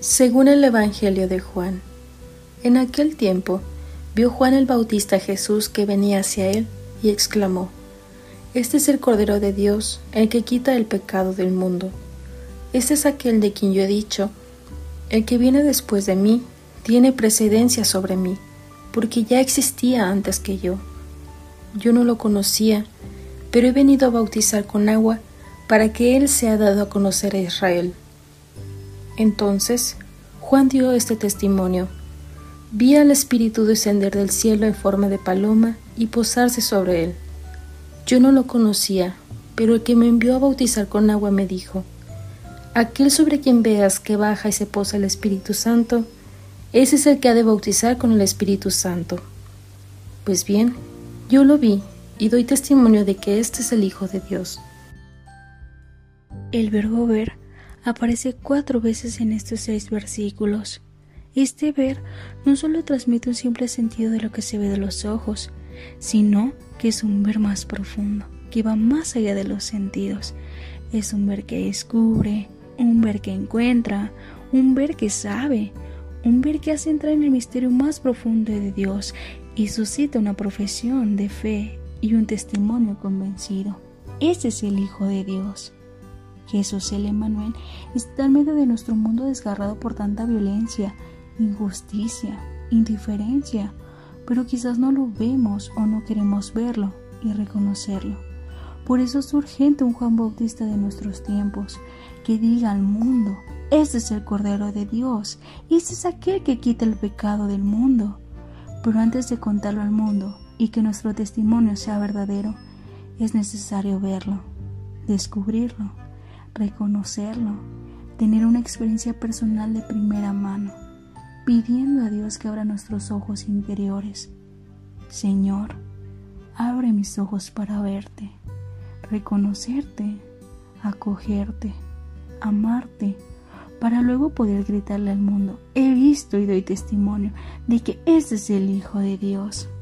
Según el Evangelio de Juan. En aquel tiempo vio Juan el Bautista a Jesús que venía hacia él y exclamó: Este es el Cordero de Dios, el que quita el pecado del mundo. Este es aquel de quien yo he dicho: el que viene después de mí tiene precedencia sobre mí, porque ya existía antes que yo. Yo no lo conocía, pero he venido a bautizar con agua para que él sea dado a conocer a Israel. Entonces Juan dio este testimonio: Vi al Espíritu descender del cielo en forma de paloma y posarse sobre él. Yo no lo conocía, pero el que me envió a bautizar con agua me dijo: Aquel sobre quien veas que baja y se posa el Espíritu Santo, ese es el que ha de bautizar con el Espíritu Santo. Pues bien, yo lo vi y doy testimonio de que este es el Hijo de Dios. El verbo ver aparece 4 veces en estos 6 versículos. Este ver no solo transmite un simple sentido de lo que se ve de los ojos, sino que es un ver más profundo, que va más allá de los sentidos. Es un ver que descubre, un ver que encuentra, un ver que sabe, un ver que hace entrar en el misterio más profundo de Dios y suscita una profesión de fe y un testimonio convencido. Ese es el Hijo de Dios. Jesús el Emmanuel está en medio de nuestro mundo desgarrado por tanta violencia, injusticia, indiferencia, pero quizás no lo vemos o no queremos verlo y reconocerlo. Por eso es urgente un Juan Bautista de nuestros tiempos que diga al mundo: este es el Cordero de Dios, este es aquel que quita el pecado del mundo. Pero antes de contarlo al mundo y que nuestro testimonio sea verdadero, es necesario verlo, descubrirlo, reconocerlo, tener una experiencia personal de primera mano, pidiendo a Dios que abra nuestros ojos interiores. Señor, abre mis ojos para verte, reconocerte, acogerte, amarte, para luego poder gritarle al mundo: he visto y doy testimonio de que este es el Hijo de Dios.